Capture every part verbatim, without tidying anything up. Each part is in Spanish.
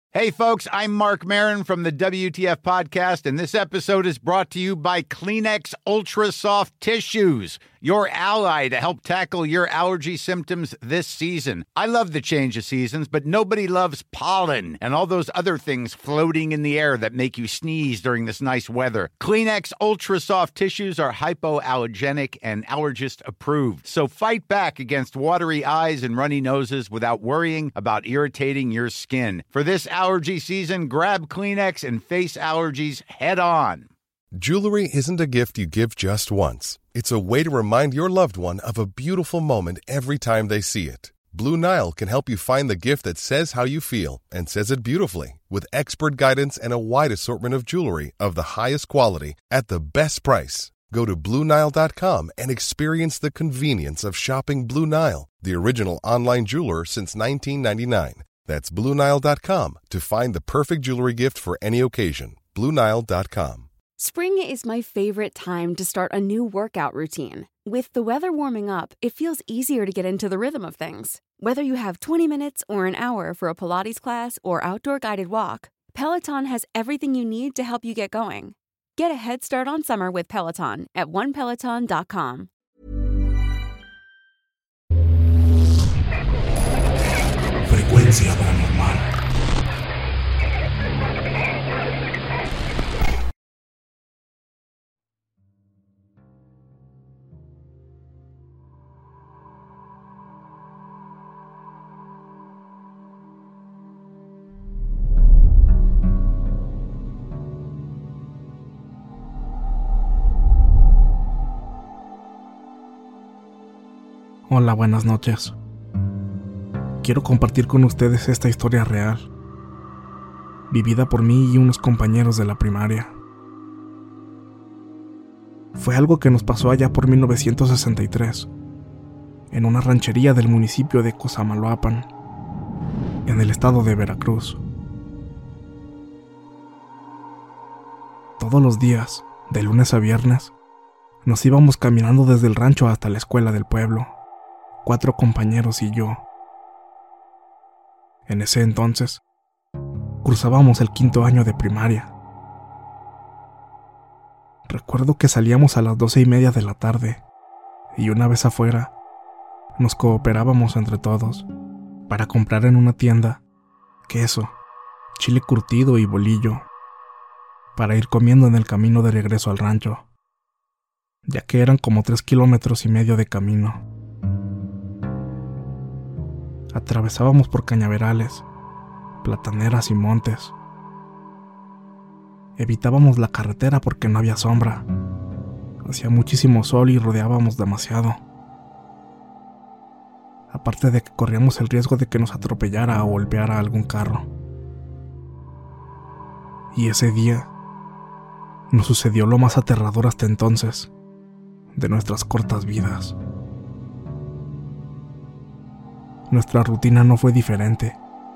Hey, folks, I'm Mark Maron from the W T F Podcast, and this episode is brought to you by Kleenex Ultra Soft Tissues, your ally to help tackle your allergy symptoms this season. I love the change of seasons, but nobody loves pollen and all those other things floating in the air that make you sneeze during this nice weather. Kleenex Ultra Soft Tissues are hypoallergenic and allergist approved, so fight back against watery eyes and runny noses without worrying about irritating your skin. For this allergy season, grab Kleenex and face allergies head on. Jewelry isn't a gift you give just once. It's a way to remind your loved one of a beautiful moment every time they see it. Blue Nile can help you find the gift that says how you feel and says it beautifully, with expert guidance and a wide assortment of jewelry of the highest quality at the best price. Go to Blue Nile dot com and experience the convenience of shopping Blue Nile, the original online jeweler since nineteen ninety-nine. That's Blue Nile dot com to find the perfect jewelry gift for any occasion. Blue Nile dot com. Spring is my favorite time to start a new workout routine. With the weather warming up, it feels easier to get into the rhythm of things. Whether you have twenty minutes or an hour for a Pilates class or outdoor guided walk, Peloton has everything you need to help you get going. Get a head start on summer with Peloton at one peloton dot com. Frecuencia paranormal. Hola, buenas noches. Quiero compartir con ustedes esta historia real, vivida por mí y unos compañeros de la primaria. Fue algo que nos pasó allá por mil novecientos sesenta y tres, en una ranchería del municipio de Cosamaloapan, en el estado de Veracruz. Todos los días, de lunes a viernes, nos íbamos caminando desde el rancho hasta la escuela del pueblo, cuatro compañeros y yo. En ese entonces, cruzábamos el quinto año de primaria. Recuerdo que salíamos a las doce y media de la tarde, y una vez afuera, nos cooperábamos entre todos para comprar en una tienda queso, chile curtido y bolillo, para ir comiendo en el camino de regreso al rancho, ya que eran como tres kilómetros y medio de camino. Atravesábamos por cañaverales, plataneras y montes. Evitábamos la carretera porque no había sombra. Hacía muchísimo sol y rodeábamos demasiado. Aparte de que corríamos el riesgo de que nos atropellara o golpeara algún carro. Y ese día nos sucedió lo más aterrador hasta entonces de nuestras cortas vidas. Nuestra rutina no fue diferente.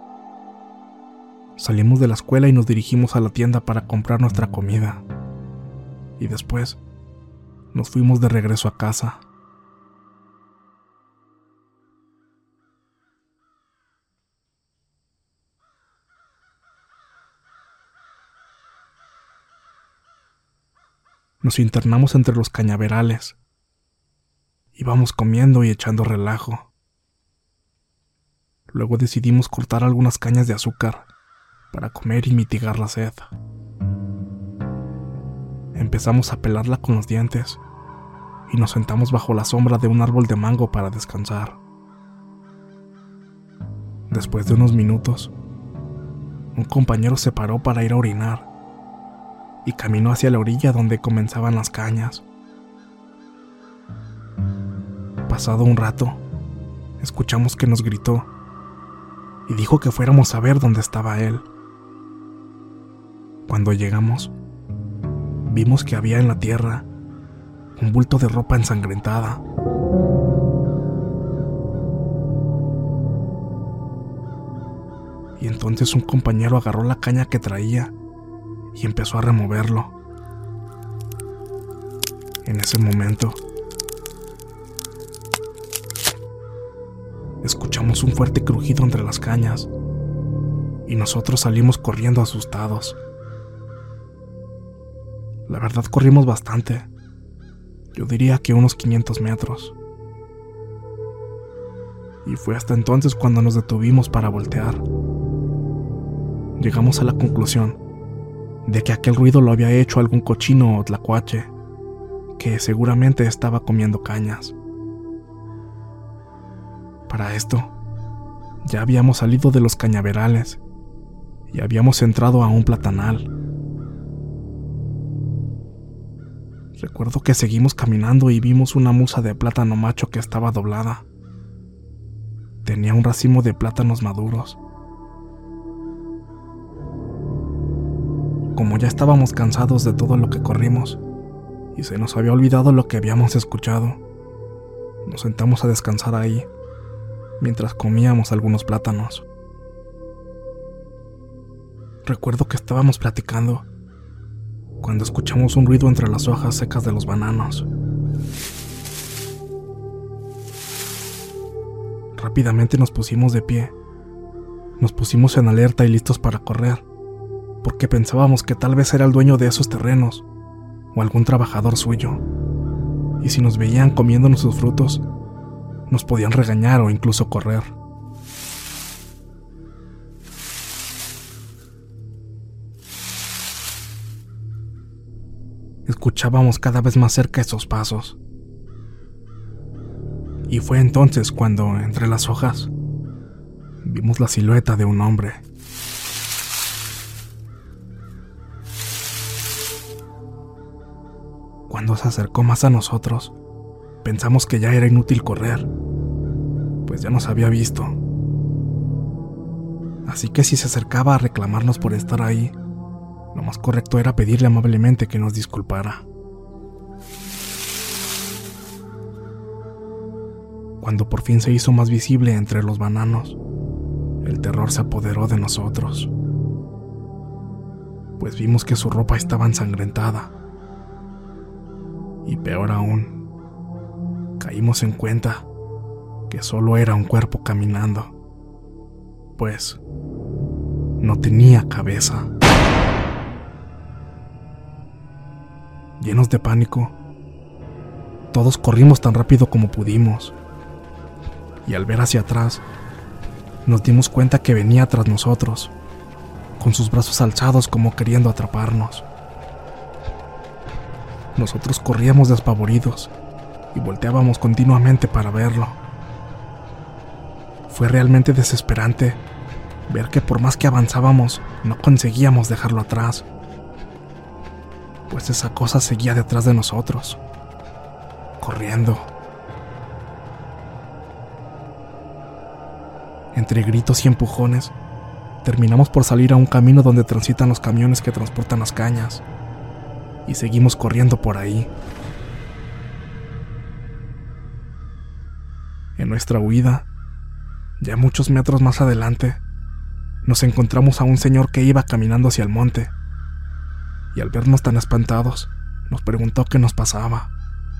Salimos de la escuela y nos dirigimos a la tienda para comprar nuestra comida. Y después, nos fuimos de regreso a casa. Nos internamos entre los cañaverales. Íbamos comiendo y echando relajo. Luego decidimos cortar algunas cañas de azúcar para comer y mitigar la sed. Empezamos a pelarla con los dientes y nos sentamos bajo la sombra de un árbol de mango para descansar. Después de unos minutos, un compañero se paró para ir a orinar y caminó hacia la orilla donde comenzaban las cañas. Pasado un rato, escuchamos que nos gritó y dijo que fuéramos a ver dónde estaba él. Cuando llegamos, vimos que había en la tierra un bulto de ropa ensangrentada. Y entonces un compañero agarró la caña que traía y empezó a removerlo. En ese momento, escuchamos un fuerte crujido entre las cañas y nosotros salimos corriendo asustados. La verdad, corrimos bastante. Yo diría que unos quinientos metros. Y fue hasta entonces cuando nos detuvimos para voltear. Llegamos a la conclusión de que aquel ruido lo había hecho algún cochino o tlacuache, que seguramente estaba comiendo cañas. Para esto, ya habíamos salido de los cañaverales y habíamos entrado a un platanal. Recuerdo que seguimos caminando y vimos una musa de plátano macho que estaba doblada. Tenía un racimo de plátanos maduros. Como ya estábamos cansados de todo lo que corrimos y se nos había olvidado lo que habíamos escuchado, nos sentamos a descansar ahí mientras comíamos algunos plátanos. Recuerdo que estábamos platicando cuando escuchamos un ruido entre las hojas secas de los bananos. Rápidamente nos pusimos de pie. Nos pusimos en alerta y listos para correr, porque pensábamos que tal vez era el dueño de esos terrenos o algún trabajador suyo, y si nos veían comiéndonos sus frutos, nos podían regañar o incluso correr. Escuchábamos cada vez más cerca esos pasos. Y fue entonces cuando, entre las hojas, vimos la silueta de un hombre. Cuando se acercó más a nosotros, pensamos que ya era inútil correr, pues ya nos había visto. Así que si se acercaba a reclamarnos por estar ahí, lo más correcto era pedirle amablemente que nos disculpara. Cuando por fin se hizo más visible entre los bananos, el terror se apoderó de nosotros, pues vimos que su ropa estaba ensangrentada. Y peor aún, caímos en cuenta que solo era un cuerpo caminando, pues no tenía cabeza. Llenos de pánico, todos corrimos tan rápido como pudimos, y al ver hacia atrás, nos dimos cuenta que venía tras nosotros, con sus brazos alzados como queriendo atraparnos. Nosotros corríamos despavoridos y volteábamos continuamente para verlo. Fue realmente desesperante ver que por más que avanzábamos, no conseguíamos dejarlo atrás, pues esa cosa seguía detrás de nosotros, corriendo. Entre gritos y empujones, terminamos por salir a un camino donde transitan los camiones que transportan las cañas, y seguimos corriendo por ahí. En nuestra huida, ya muchos metros más adelante, nos encontramos a un señor que iba caminando hacia el monte, y al vernos tan espantados, nos preguntó qué nos pasaba.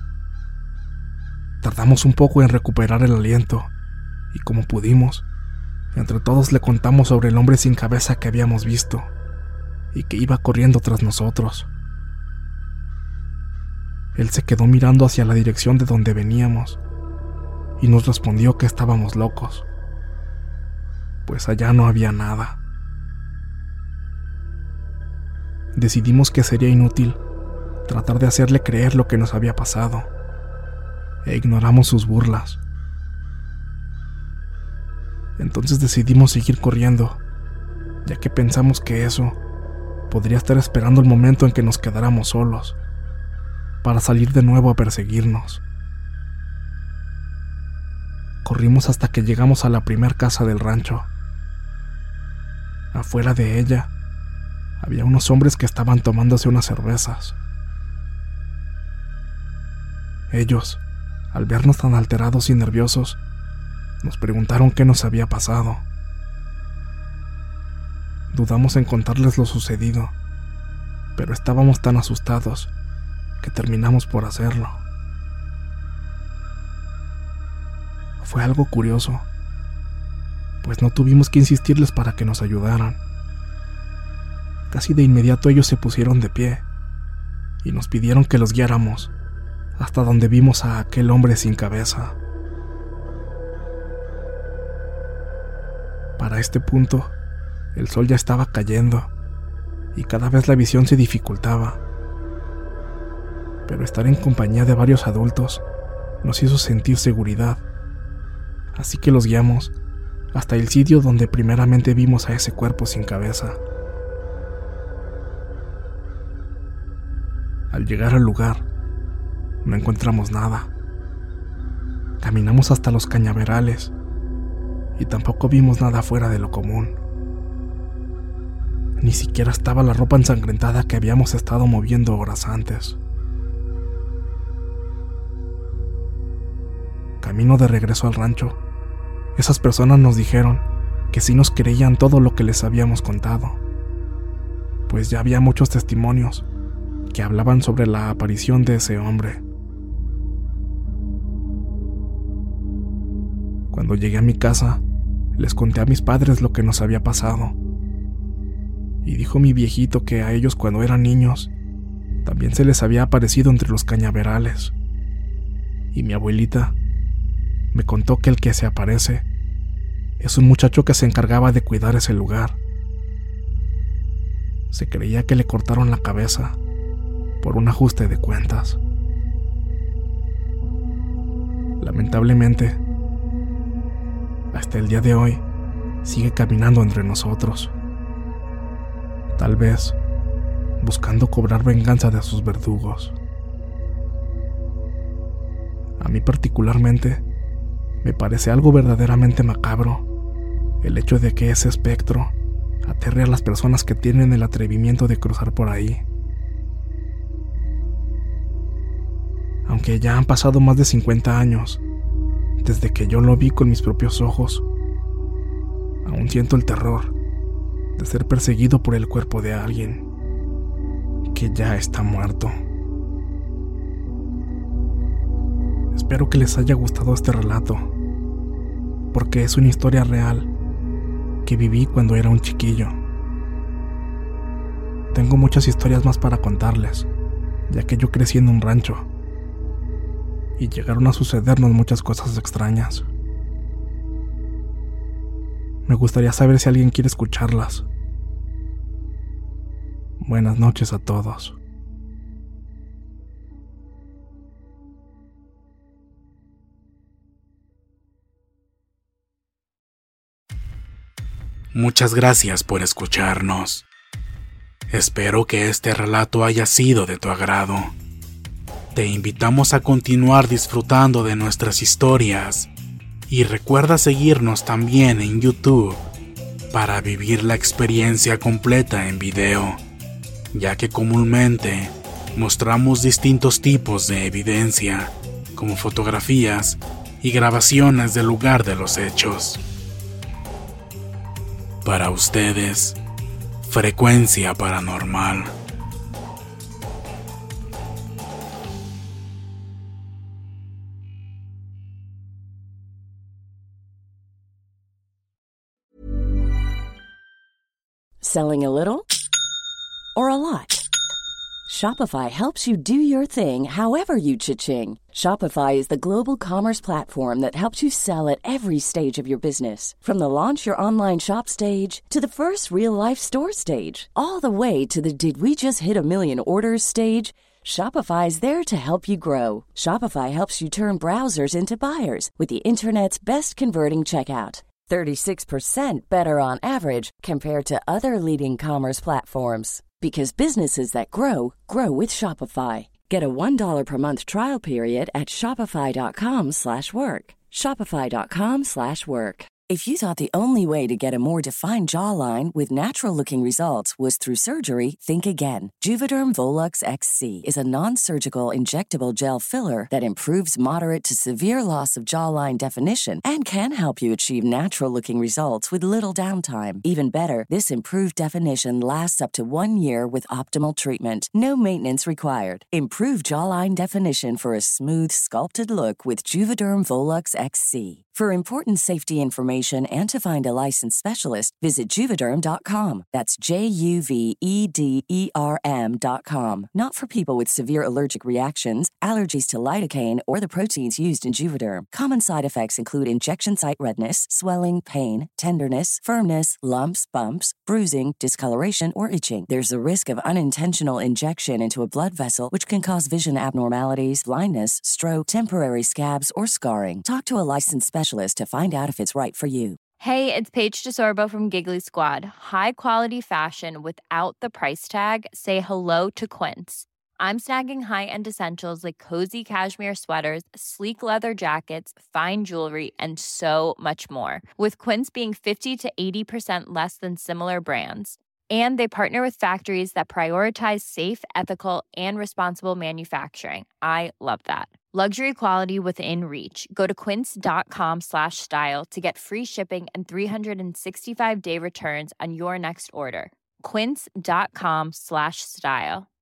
Tardamos un poco en recuperar el aliento, y como pudimos, entre todos le contamos sobre el hombre sin cabeza que habíamos visto, y que iba corriendo tras nosotros. Él se quedó mirando hacia la dirección de donde veníamos, y nos respondió que estábamos locos, pues allá no había nada. Decidimos que sería inútil tratar de hacerle creer lo que nos había pasado, e ignoramos sus burlas. Entonces decidimos seguir corriendo, ya que pensamos que eso podría estar esperando el momento en que nos quedáramos solos, para salir de nuevo a perseguirnos. Corrimos hasta que llegamos a la primer casa del rancho. Afuera de ella, había unos hombres que estaban tomándose unas cervezas. Ellos, al vernos tan alterados y nerviosos, nos preguntaron qué nos había pasado. Dudamos en contarles lo sucedido, pero estábamos tan asustados que terminamos por hacerlo. Fue algo curioso, pues no tuvimos que insistirles para que nos ayudaran. Casi de inmediato ellos se pusieron de pie y nos pidieron que los guiáramos hasta donde vimos a aquel hombre sin cabeza. Para este punto, el sol ya estaba cayendo y cada vez la visión se dificultaba. Pero estar en compañía de varios adultos nos hizo sentir seguridad, así que los guiamos hasta el sitio donde primeramente vimos a ese cuerpo sin cabeza. Al llegar al lugar, no encontramos nada. Caminamos hasta los cañaverales y tampoco vimos nada fuera de lo común. Ni siquiera estaba la ropa ensangrentada que habíamos estado moviendo horas antes. Camino de regreso al rancho, esas personas nos dijeron que sí nos creían todo lo que les habíamos contado, pues ya había muchos testimonios que hablaban sobre la aparición de ese hombre. Cuando llegué a mi casa, les conté a mis padres lo que nos había pasado, y dijo mi viejito que a ellos cuando eran niños también se les había aparecido entre los cañaverales, y mi abuelita me contó que el que se aparece es un muchacho que se encargaba de cuidar ese lugar. Se creía que le cortaron la cabeza por un ajuste de cuentas. Lamentablemente, hasta el día de hoy sigue caminando entre nosotros, tal vez buscando cobrar venganza de sus verdugos. A mí particularmente me parece algo verdaderamente macabro el hecho de que ese espectro aterre a las personas que tienen el atrevimiento de cruzar por ahí. Aunque ya han pasado más de cincuenta años desde que yo lo vi con mis propios ojos, aún siento el terror de ser perseguido por el cuerpo de alguien que ya está muerto. Espero que les haya gustado este relato, porque es una historia real que viví cuando era un chiquillo. Tengo muchas historias más para contarles, ya que yo crecí en un rancho y llegaron a sucedernos muchas cosas extrañas. Me gustaría saber si alguien quiere escucharlas. Buenas noches a todos. Muchas gracias por escucharnos. Espero que este relato haya sido de tu agrado. Te invitamos a continuar disfrutando de nuestras historias y recuerda seguirnos también en YouTube para vivir la experiencia completa en video, ya que comúnmente mostramos distintos tipos de evidencia, como fotografías y grabaciones del lugar de los hechos. Para ustedes, Frecuencia Paranormal. Selling a little or a lot? Shopify helps you do your thing however you cha-ching. Shopify is the global commerce platform that helps you sell at every stage of your business. From the launch your online shop stage to the first real-life store stage, all the way to the did we just hit a million orders stage. Shopify is there to help you grow. Shopify helps you turn browsers into buyers with the internet's best converting checkout. thirty-six percent better on average compared to other leading commerce platforms. Because businesses that grow, grow with Shopify. Get a one dollar per month trial period at shopify.com slash work. Shopify.com slash work. If you thought the only way to get a more defined jawline with natural-looking results was through surgery, think again. Juvederm Volux X C is a non-surgical injectable gel filler that improves moderate to severe loss of jawline definition and can help you achieve natural-looking results with little downtime. Even better, this improved definition lasts up to one year with optimal treatment. No maintenance required. Improve jawline definition for a smooth, sculpted look with Juvederm Volux X C. For important safety information and to find a licensed specialist, visit Juvederm dot com. That's J U V E D E R M dot com. Not for people with severe allergic reactions, allergies to lidocaine, or the proteins used in Juvederm. Common side effects include injection site redness, swelling, pain, tenderness, firmness, lumps, bumps, bruising, discoloration, or itching. There's a risk of unintentional injection into a blood vessel, which can cause vision abnormalities, blindness, stroke, temporary scabs, or scarring. Talk to a licensed specialist to find out if it's right for you. Hey, it's Paige DeSorbo from Giggly Squad. High quality fashion without the price tag. Say hello to Quince. I'm snagging high-end essentials like cozy cashmere sweaters, sleek leather jackets, fine jewelry, and so much more. With Quince being fifty to eighty percent less than similar brands. And they partner with factories that prioritize safe, ethical, and responsible manufacturing. I love that. Luxury quality within reach. Go to quince.com slash style to get free shipping and three sixty-five day returns on your next order. Quince.com slash style.